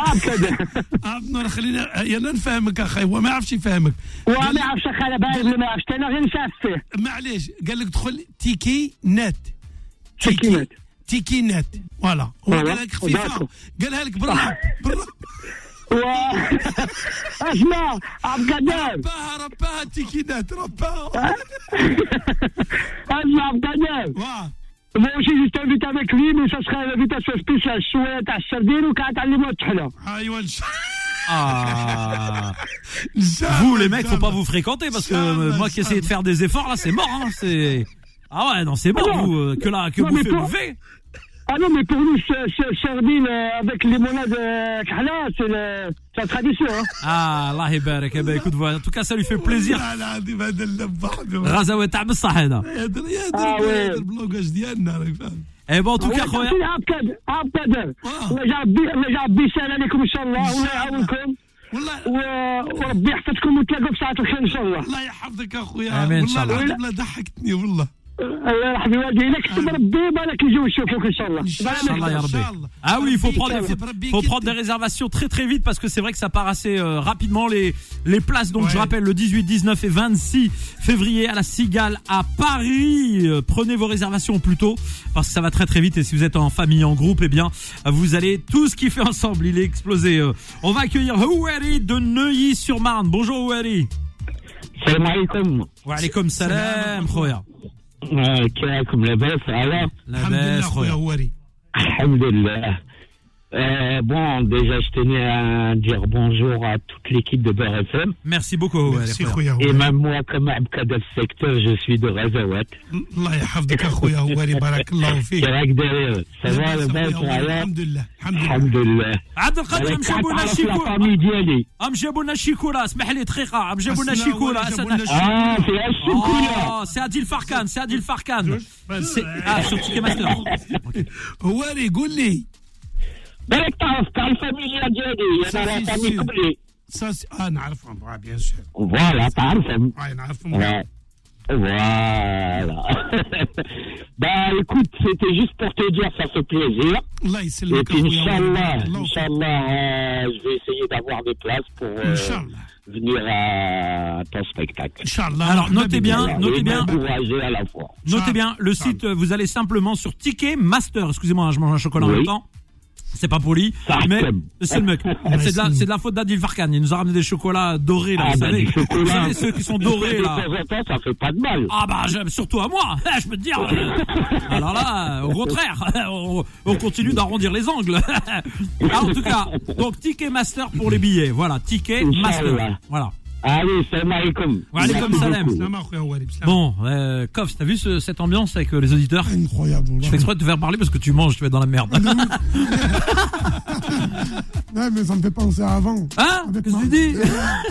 عاب كذا عبد النور خلينا يلا نفهمك اخي هو ما يعرفش يفهمك وما يعرفش انا باين ولا ما يعرفش انا غير نسفه معليش قال لك دخل تيكي نت تيكي نت. تيكي نت فوالا هو فوالا. قال لك خفيفه قالها لك برا برا اسمع عبد القادر رباها رباها تيكي نت رباها اسمع عبد القادر واه Moi aussi, je t'invite avec lui, mais ça serait une invitation spéciale. شوية تاع السردين وكاع تعلموا الطحلة. ايوه ان شاء Ah. الله Vous les mecs, faut pas vous fréquenter parce que euh, moi qui essayais de faire des efforts là, c'est mort. Hein, c'est ah ouais non c'est mort Ah non. vous euh, que là que Non, vous mais faites toi- bouffez. Ah non, mais pour nous, c'est, c'est sardine euh, avec limonade euh, كحلة, c'est, le, c'est la tradition. Hein. Ah Allah يبارك. Eh ben écoute voilà, en tout cas ça lui fait plaisir. لا لا هذه هذا اللبه غزوة تاع بصح هذا. يهدر آه، يهدر وي. يهدر البلوكاج ديالنا راك فاهم Eh ben en tout cas هو خويا. تعطيني عبد القادر عبد القادر. آه. الله يجعل بي الله يجعل بيسال عليكم إن شاء الله إن والله شاء الله. يعاونكم والله و- وربي يحفظكم وتلاقوا في ساعة الخير إن شاء الله. الله يحفظك اخويا آمين إن والله شاء الله. العظيم لا ضحكتني والله الله يرحم والدي إذا كتب ربي بالك يجوا يشوفوك إن شاء الله. إن شاء بالك Inch'Allah, ya Rabbi. Inch'Allah. Ah oui, il faut Rabbi prendre, Kittab, faut, Rabbi faut Kittab. prendre des réservations très très vite parce que c'est vrai que ça part assez euh, rapidement les les places. Donc Ouais. je rappelle le dix-huit, dix-neuf et vingt-six février à la Cigale à Paris. Euh, prenez vos réservations plus tôt parce que ça va très très vite et si vous êtes en famille, en groupe, eh bien vous allez tout ce qui fait ensemble. Il est explosé. Euh. On va accueillir Houari de Neuilly-sur-Marne. Bonjour Houari. السلام عليكم. Wa alaykoum salam khoya. كيفكم لاباس على؟ الحمد لله Labas اخويا khoya. هواري الحمد لله. Euh, bon, déjà, je tenais à dire bonjour à toute l'équipe de Beurre F M. Merci beaucoup Houari. ميرسي khoya. خويا Et هواري même moi, comme Abkada du secteur, je suis de Razawat. الله يحفظك اخويا هواري بارك الله فيك C'est vrai que derrière, ça va, le لاباس bas, أخويا هواري. voilà. الحمد لله الحمد لله Alhamdulillah. عبد القادر مشى بونا la شيكو. famille ديالي. ام جابوا لنا الشيكولا اسمح لي دقيقه ام جابوا لنا أصلا الشيكولا ولا أسد- جابوا لنا Ah, c'est la chocolat. Oh, c'est Adil Farkan, c'est Adil Farkan. بس. C'est- Ah, sur Ticketmaster. هواري قول لي بالك تعرف تاع الفاميليا ديالي، أنا صافي، لا فامي صافي. قبلي. ساس اه نعرفهم اه بيان سور Voilà, تعرفهم. اه نعرفهم Ouais. Voilà. Bah écoute, c'était juste pour te dire, ça fait plaisir. الله Et يسلمك puis اخويا هواري. Inch'Allah, بارك الله فيك. Inch'Allah, euh, je vais essayer d'avoir des places pour euh, ان شاء الله venir à ton spectacle. ان شاء الله Alors, مرحبا notez بك. bien, Voilà, notez et bien. m'encourager à la fois. Notez bien, le Charles. site, euh, vous allez simplement sur Ticketmaster. Excusez-moi, hein, je mange un chocolat en Oui. même temps. C'est pas poli, Sarkem. mais c'est le mec. C'est de la, c'est de la faute d'Adil Farkan. Il nous a ramené des chocolats dorés, là, Ah, vous bah, savez. du chocolat. Vous savez, ceux qui sont dorés, De là. temps en temps, ça fait pas de mal. Ah bah je- surtout à moi, je peux te dire. Alors là, au contraire, on, on continue d'arrondir les angles. Alors, en tout cas, donc Ticketmaster pour les billets. Voilà, Ticketmaster. Inch'Allah. Voilà. Allez, salam alaikum. Wa alaikum Merci salam. beaucoup. سلام اخويا هواري بسلام Bon, euh, Kof, t'as vu ce- cette ambiance avec euh, les auditeurs? Incroyable. Je fais exprès de te faire parler parce que tu manges, tu vas être dans la merde. Ouais, mais ça me fait penser à avant. Hein? Avec Qu'est-ce que ma- tu dis?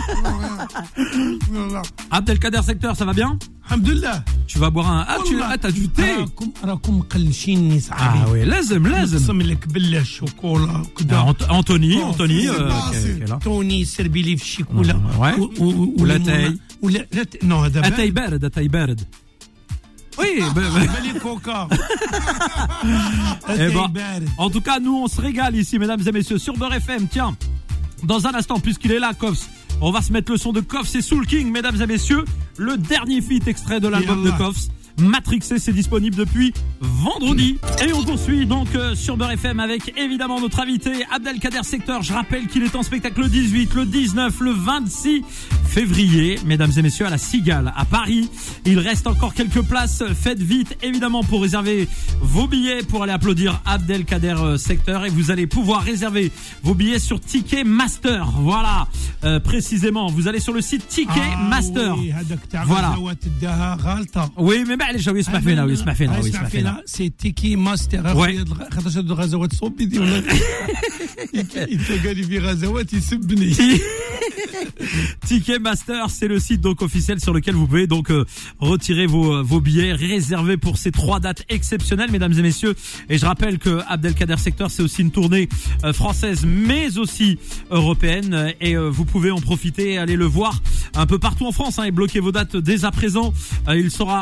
Voilà. Abdelkader Secteur, ça va bien? الحمد لله Tu vas boire un... Ah, tu والله. ah, t'as du thé? راكم راكم مقلشيني Ah صاحبي oui, لازم لازم. نقسم لك بالله الشوكولا Ah, وكذا Ant- Anthony, Oh, Anthony, c'est euh, pas qui est- assez. qui est là. توني سربي لي في الشيكولا Ouais. و- و- ولا وليمونة. تاي. ولا لا ت- نو هذا أتاي بارد أتاي بارد. Oui, bah, bah. بالي كوكا Eh أتاي ben, بارد en tout cas, nous, on se régale ici, mesdames et messieurs, sur Beurre F M. Tiens, dans un instant, puisqu'il est là, Koffs, on va se mettre le son de Koffs et Soul King, mesdames et messieurs. Le dernier feat extrait de l'album de Yallah. Koffs. Matrixé, c'est disponible depuis vendredi. Et on poursuit donc euh, sur Beurre F M avec évidemment notre invité Abdelkader Secteur. Je rappelle qu'il est en spectacle le dix-huit, le dix-neuf, le vingt-six février, mesdames et messieurs, à la Cigale, à Paris. Il reste encore quelques places. Faites vite, évidemment, pour réserver vos billets, pour aller applaudir Abdelkader euh, Secteur. Et vous allez pouvoir réserver vos billets sur Ticketmaster. Voilà, euh, précisément. Vous allez sur le site Ticketmaster. آه وي، هذاك تاع Voilà. غزوات داها غلطه Oui, mais معليش هو يسمع فينا ويسمع فينا آه، ويسمع فينا. سي تيكي ماستر Ouais. اخويا خاطر هاد الغزوات صوبي دي ولا قال لي في غزوات يسبني Ticketmaster, c'est le site donc officiel sur lequel vous pouvez donc euh, retirer vos vos billets, réserver pour ces trois dates exceptionnelles, mesdames et messieurs. Et je rappelle que Abdelkader Secteur, c'est aussi une tournée euh, française, mais aussi européenne, et euh, vous pouvez en profiter et aller le voir un peu partout en France, hein, et bloquer vos dates dès à présent. Euh, il sera à Bordeaux.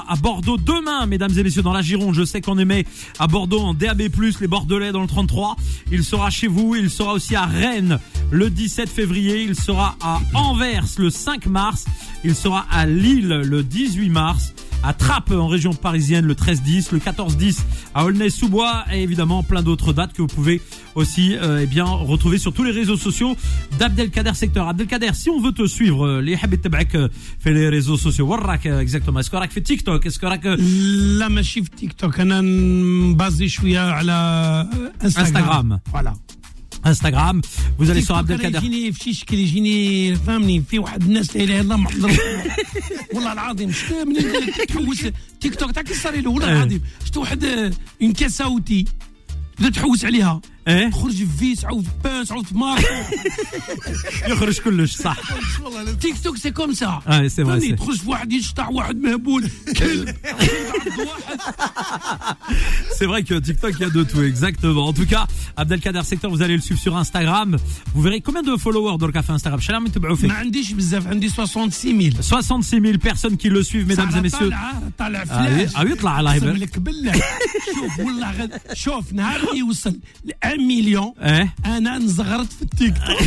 Bordeaux demain, mesdames et messieurs, dans la Gironde. Je sais qu'on émet à Bordeaux en D A B plus, les Bordelais dans le trente-trois. Il sera chez vous. Il sera aussi à Rennes le dix-sept février. Il sera à Anvers le cinq mars. Il sera à Lille le dix-huit mars. À Trappes en région parisienne le treize dix, le quatorze dix à Aulnay-sous-Bois et évidemment plein d'autres dates que vous pouvez aussi euh, eh bien retrouver sur tous les réseaux sociaux d'Abdelkader Secteur. Abdelkader, si on veut te suivre, les حابب تبعك في les réseaux sociaux, وراك exactement. Est-ce que راك في تيك توك؟ Est-ce que راك لا ماشي في تيك توك، انا بازي شويه على انستغرام. فوالا Instagram, vous allez sur Abdelkader. يجيني في شي شكل يجيني فهمني في واحد الناس لا اله الا الله محضر والله العظيم شفت من تحوس تيك توك تاع كي صار له والله العظيم شفت واحد اون كاساوتي بدا تحوس عليها ايه تخرج في فيس عاود في باس عاود في مارك يخرج كلش صح. تيك توك سي كوم سا اه سي فري تخرج في واحد يشطح واحد مهبول كلب C'est vrai que TikTok, il y a de tout, exactement. En tout cas, Abdelkader Secteur, vous allez le suivre sur Instagram. Vous verrez combien de followers dans le café Instagram. ما عنديش بزاف، عندي soixante-six mille. soixante-six mille personnes qui le suivent, mesdames et messieurs. طالع فلاش. Ah oui, يطلع لايف. لك بالله. شوف والله غد شوف نهار يوصل ل un million. أنا نزغرت في التيك توك.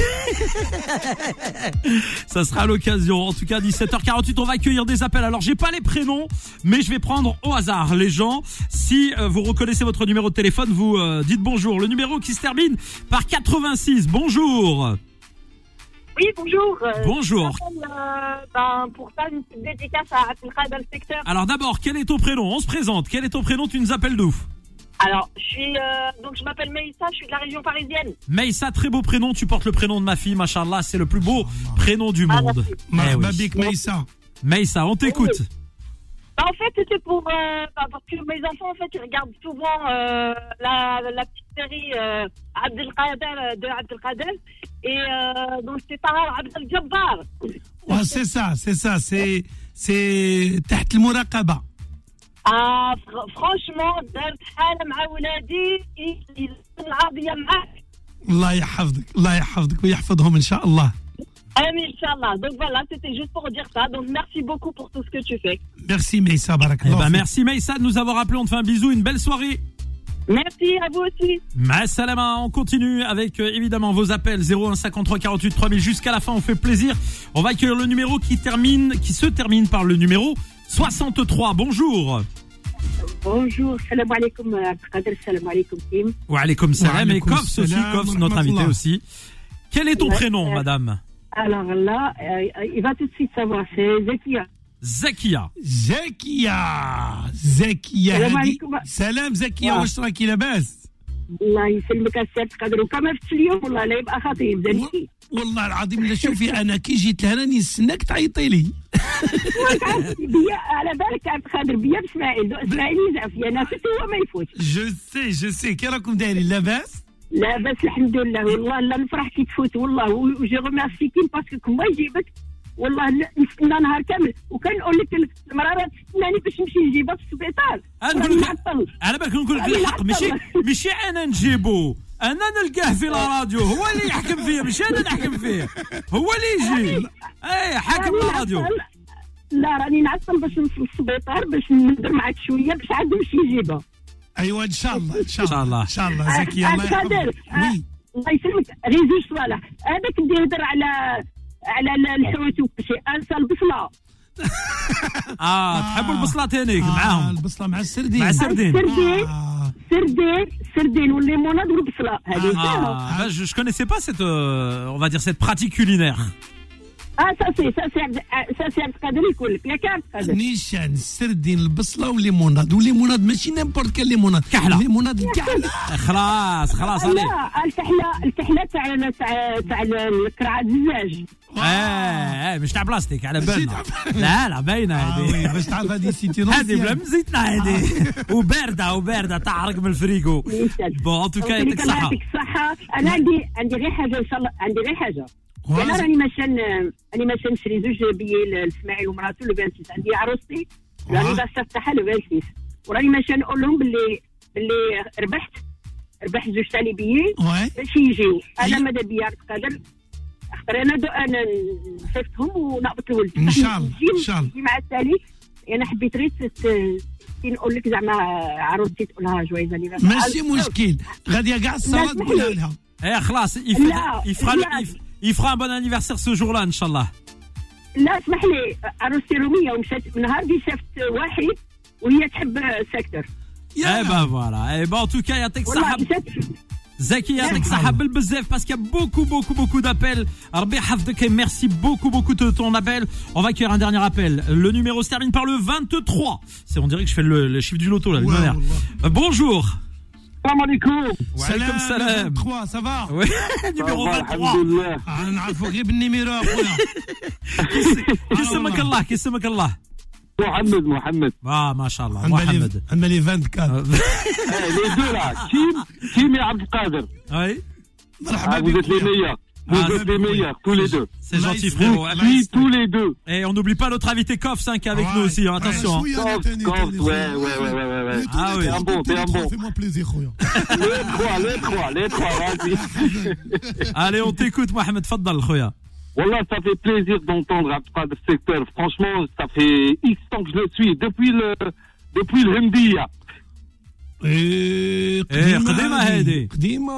Ça sera l'occasion. En tout cas, dix-sept heures quarante-huit, on va accueillir des appels. Alors, j'ai pas les prénoms, mais je vais prendre au hasard les gens. Si euh, vous reconnaissez votre numéro de téléphone, vous euh, dites bonjour. Le numéro qui se termine par quatre-vingt-six. Bonjour. Oui, bonjour. Euh, bonjour. Euh, ben, pour ça, une petite dédicace à Abdelkader Secteur. Alors d'abord, quel est ton prénom? On se présente. Quel est ton prénom? Tu nous appelles d'où? Alors, je suis euh, donc je m'appelle Meïssa, je suis de la région parisienne. Meïssa, très beau prénom. Tu portes le prénom de ma fille, machallah. C'est le plus beau prénom du monde. Ah, eh oui. Meïssa. Meïssa, on t'écoute. Oui. Bah, en fait, c'était pour euh, bah, parce que mes enfants, en fait, ils regardent souvent euh, la, la petite série euh, Abdelkader de Abdelkader et euh, donc c'est par Abdel Jabbar. Ouais, c'est ça, c'est ça, c'est c'est تحت المراقبة. Ah, fr- franchement, درت حالة مع ولادي العربية معاك. الله يحفظك، الله يحفظك ويحفظهم إن شاء الله. Amin, Inch'Allah. Donc voilà, c'était juste pour dire ça. Donc merci beaucoup pour tout ce que tu fais. Merci Meïssa, barakallah. Eh ben, merci Meïssa de nous avoir appelé. On te fait un bisou, une belle soirée. Merci à vous aussi. Ma salama, on continue avec euh, évidemment vos appels zéro un cinquante-trois quarante-huit trois mille jusqu'à la fin. On fait plaisir. On va accueillir le numéro qui termine, qui se termine par le numéro soixante-trois. Bonjour. Bonjour, salam alaikum, Abdelkader, salam alaikum, Kim. Wa alaikum salam. Et Kofs aussi, Kofs, notre invité aussi. Quel est ton Ouais, prénom, euh, madame? Alors là, euh, il va tout de suite savoir, c'est Zakia. Zakia. Zakia. Zakia. Salam هادي- عليكم. سلام زكية، آه. واش راكي لاباس؟ الله يسلمك السي عبد القادر، وكما فتش اليوم والله لا يبقى خطيب زنكي. والله العظيم لا شوفي انا كي جيت لهنا راني نستناك تعيطي لي. بيا على بالك عبد القادر بيا باسماعيل، اسماعيل يزعف فيا انا فت هو ما يفوت. جو سي جو سي كي راكم دايرين لاباس؟ لاباس الحمد لله، والله لا نفرح كي تفوت والله، وجي ريميرسي كيم باسكو كما يجيبك والله نستنى نهار كامل، وكان نقول لك المراه راه تستناني باش نمشي نجيبها في السبيطار. نقول لك نعطل. على بالك نقول لك الحق، ماشي ماشي انا نجيبو، انا نلقاه في الراديو، هو اللي يحكم فيه ماشي انا نحكم فيه، هو اللي يجي اي حاكم راني الراديو. نعطل. لا راني نعطل باش نوصل للسبيطار باش ندير معاك شويه باش عاد نمشي نجيبها. ايوا ان شاء الله ان شاء إن شاء الله. الله ان شاء الله زكية الله قادر يحفظك. وي الله يسلمك، غير زوج صوالح، هذاك اللي يهضر على على الحوت وكلشي، انسى البصله. اه تحبوا البصله تانيك آه، معاهم البصله مع السردين. مع السردين. السردين آه. السردين السردين والليموناد والبصله هذه. Ah, bah, je, je connaissais pas cette, euh, on va dire cette pratique culinaire. اه ساسي ساسي ساسي عبد القادر يقول لك ياك عبد القادر. نيشان السردين البصله والليموناد، والليموناد ماشي نيمبورت كان ليموناد، كحلة. الليموناد الكحله. خلاص خلاص عليك. لا الكحله الكحله تاع تاع تاع الكرعه الدجاج. ايه ايه مش تاع بلاستيك على بالنا. لا لا باينه اه هذه. وي باش تعرف هذه سيتي هذه بلا مزيتنا هذه وبارده وبارده تعرق من الفريغو. بون ان توكا يعطيك الصحه. يعطيك الصحه. انا عندي عندي غير حاجه ان شاء الله، عندي غير حاجه. واز- انا راني ماشيه راني ماشيه نشري زوج بيي لاسماعيل ومراته لو ستة عندي عروستي راني باش تفتحها لو ستة، وراني ماشيه نقول لهم باللي باللي ربحت ربحت زوج تاني بيي وي باش يجيو. انا هي- ماذا بيا قادر اختار انا دو انا نصيفطهم ونقبط الولد إن شاء الله، نجي- إن شاء الله. نجي مع التالي. انا حبيت غير تت- عرفتي نقول لك زعما عروستي تقول لها جويز انيفرسير ماشي مشكل غادي كاع الصوت تقولها لها Eh, خلاص, il, fait, il, fera le, il, il fera un bon anniversaire ce jour-là, Inch'Allah. لا اسمح لي عروستي روميه ومشات نهار دي شافت واحد وهي تحب سيكتور. Eh ben voilà. Eh ben en tout cas, يعطيك الصحة. Zaki, يعطيك الصحة بالبزاف parce qu'il y a beaucoup, beaucoup, beaucoup d'appels. ربي يحفظك et merci beaucoup, beaucoup de ton appel. On va accueillir un dernier appel. Le numéro se termine par le vingt-trois. C'est, on dirait que je fais le, le chiffre du loto là. Ouais, ouais, ouais. Euh, bonjour. Salam alaikum. Salam salam. vingt-trois, ça va? Oui, numéro vingt-trois. انا نعرفوا غير بالنيميرو اخويا. كيسمك الله كيسمك الله. محمد محمد. اه ما شاء الله محمد. عندنا لي أربعة وعشرين. لي دو لا كيم كيم يا عبد القادر. Oui. مرحبا بك. Vous êtes les meilleurs. Vous êtes les meilleurs, tous les deux. C'est gentil, frérot. Oui, tous les deux. Et on n'oublie pas notre invité Kofs hein, qui est avec Ouais, nous aussi. Hein. ouais. Attention. Kof, Kof, ouais, ouais, ouais, ouais, ouais. Ah oui. T'es un bon, t'es un bon. Fais-moi plaisir, Khoya. Les trois, les trois, les trois, vas-y. Allez, on t'écoute, Mohamed. Faddal, Khoya. Wallah, ça fait plaisir d'entendre Abdelkader Secteur. Franchement, ça fait X temps que je le suis, depuis le, depuis le Hemdia. ايه قديمة هذه. قديمة.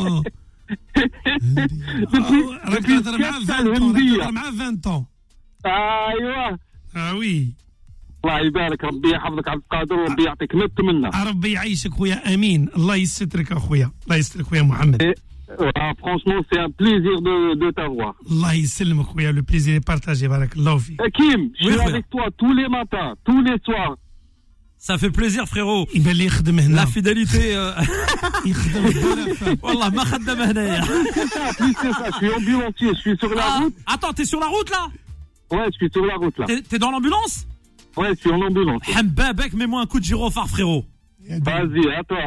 Depuis, راك depuis تهضر مع كاس عشرين راك الهمدية. تهضر مع عشرين. ايوه. اه وي. الله يبارك، ربي يحفظك عبد القادر وربي يعطيك مت منا. ربي يعيشك خويا امين. الله يسترك اخويا. الله يسترك خويا محمد. Franchement, c'est un plaisir de, de t'avoir. الله يسلمك خويا. Le plaisir est partagé. بارك الله فيك. Hakim, je Oui, suis frère. avec toi tous les matins, tous les soirs. Ça fait plaisir, frérot. يبان لي يخدم هنا. La fidélité. Euh... يخدم هنا. والله ما خدم هنايا. C'est ça, plus c'est ça. Je suis ambulancier, je suis sur la Ah, route. attends, t'es sur la route là? Ouais, je suis sur la route là. T'es, t'es dans l'ambulance? Ouais, je suis en ambulance. Hambabek, mets-moi un coup de gyrophare, frérot. Vas-y, à toi.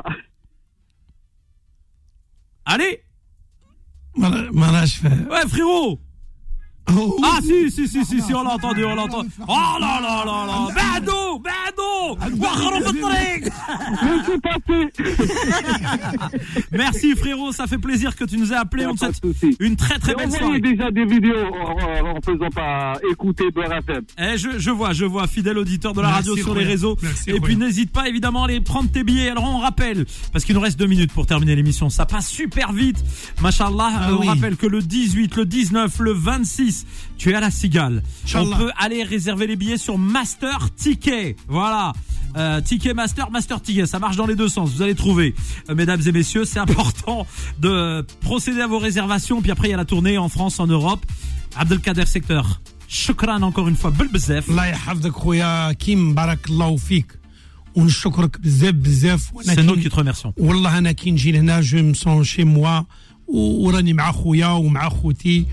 Allez. ما ما راش فاهم. Ouais, frérot. Ah si si si si si on l'a entendu on l'a entendu. Oh là là là là. بعدو بعدو. واخروا في الطريق. Laissez passer. Merci frérot, ça fait plaisir que tu nous aies appelé. On te souhaite une très très belle soirée. Envoyez déjà des vidéos en, en faisant pas écouter Beurre F M. Eh, je, je vois, je vois, fidèle auditeur de la Merci, radio sur Roya. les réseaux. Merci, et puis Roya. n'hésite pas évidemment à aller prendre tes billets. Alors on rappelle, parce qu'il nous reste deux minutes pour terminer l'émission. Ça passe super vite. Machallah, Ah, on oui. rappelle que le dix-huit, le dix-neuf, le vingt-six, tu es à la Cigale. On Inch'Allah. peut aller réserver les billets sur Master Ticket. Voilà. Euh, ticket Master, Master Ticket. Ça marche dans les deux sens. Vous allez trouver. Euh, mesdames et messieurs, c'est important de procéder à vos réservations. Puis après, il y a la tournée en France, en Europe. Abdelkader Secteur. Shukran encore une fois. Belbezef. الله يحفظك خويا كيم. بارك الله فيك ونشكرك بزاف بزاف. C'est nous qui te remercions. والله انا كي نجي لهنا جو مسون شي موا وراني مع خويا ومع خوتي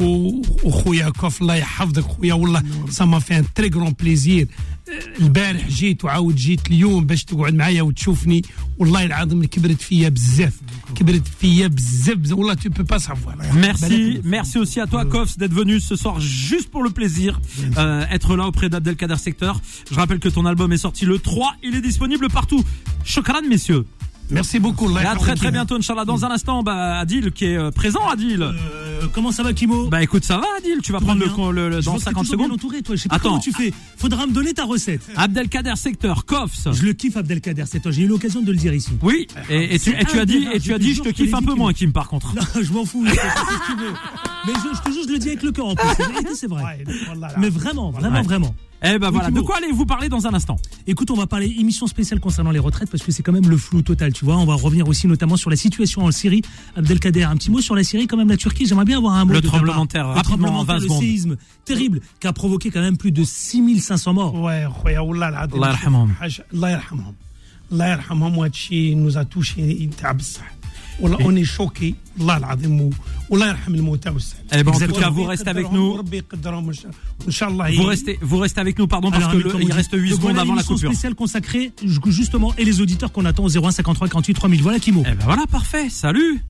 وخويا كوف. الله يحفظك خويا. والله سا ما في ان تري غرون بليزير. البارح جيت وعاود جيت اليوم باش تقعد معايا وتشوفني. والله العظيم كبرت فيا بزاف. كبرت فيا بزاف بزاف. والله tu peux pas savoir. Merci, merci aussi à toi Kofs d'être venu ce soir juste pour le plaisir, euh, être là auprès d'Abdelkader Secteur. Je rappelle que ton album est sorti le trois, il est disponible partout. Shukran messieurs. Merci beaucoup. Et à très très bientôt Inch'Allah. Dans un instant, bah, Adil qui est euh, présent, Adil. Euh, comment ça va Kimo? Bah écoute, ça va Adil, tu vas Tout prendre va bien. le, le, le Je dans vois que t'es cinquante toujours bien secondes. entouré, toi. Je sais pas Attends. comment tu fais. Faudra me donner ta recette. Abdelkader Secteur, Kofs. Je le kiffe Abdelkader, c'est toi. J'ai eu l'occasion de le dire ici. Oui, et, et, tu, et tu as dit, et tu as dit, je te kiffe un peu moins Kim par contre. Non, je m'en fous. Je fais ce que tu veux. Mais je, je te jure, je le dis avec le cœur en plus. C'est vrai, c'est vrai. Mais vraiment, vraiment, Ouais. vraiment. Eh ben Oui, voilà, de Thibaut. quoi allez-vous parler dans un instant? Écoute, on va parler émission spéciale concernant les retraites parce que c'est quand même le flou total, tu vois. On va revenir aussi notamment sur la situation en Syrie. Abdelkader, un petit mot sur la Syrie, quand même la Turquie. J'aimerais bien avoir un mot Le de ta tremblement part. de terre, le rapidement, tremblement en de terre, vingt le secondes. séisme terrible qui a provoqué quand même plus de six mille cinq cents morts. Ouais, خويا والله العظيم. الله يرحمهم. حاجة- الله يرحمهم. الله يرحمهم. وهذا الشيء nous a touché تاع بصح. والله on est choqué. والله العظيم. والله يرحم الموتى والسهل. Eh ben en tout Exactement. cas, vous restez avec nous. وربي يقدرهم وإن شاء- وإن شاء الله. Vous restez, vous restez avec nous, pardon, parce Alors, que Amine, le- comme on il dit. reste huit Donc, secondes voilà avant la l'émission coupure. spéciale consacrée justement et les auditeurs qu'on attend au zéro un cinquante-trois quarante-huit trois mille. Voilà Kimo. Eh ben voilà, parfait. Salut.